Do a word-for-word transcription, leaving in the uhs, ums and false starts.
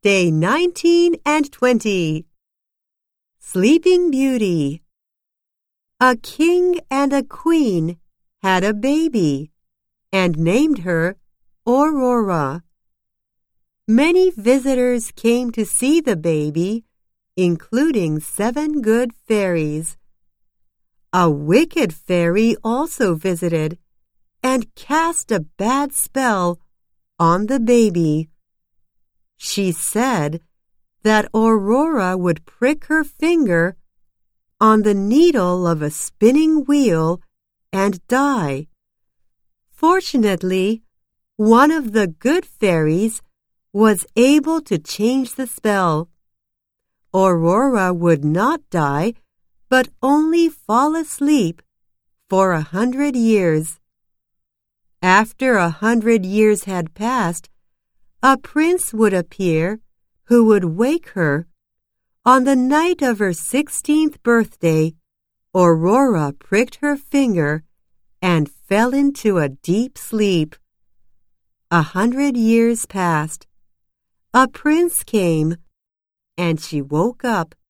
Day nineteen and twenty. Sleeping Beauty. A king and a queen had a baby and named her Aurora. Many visitors came to see the baby, including seven good fairies. A wicked fairy also visited and cast a bad spell on the baby. She said that Aurora would prick her finger on the needle of a spinning wheel and die. Fortunately, one of the good fairies was able to change the spell. Aurora would not die, but only fall asleep for a hundred years. After a hundred years had passed, a prince would appear who would wake her. On the night of her sixteenth birthday, Aurora pricked her finger and fell into a deep sleep. A hundred years passed. A prince came, and she woke up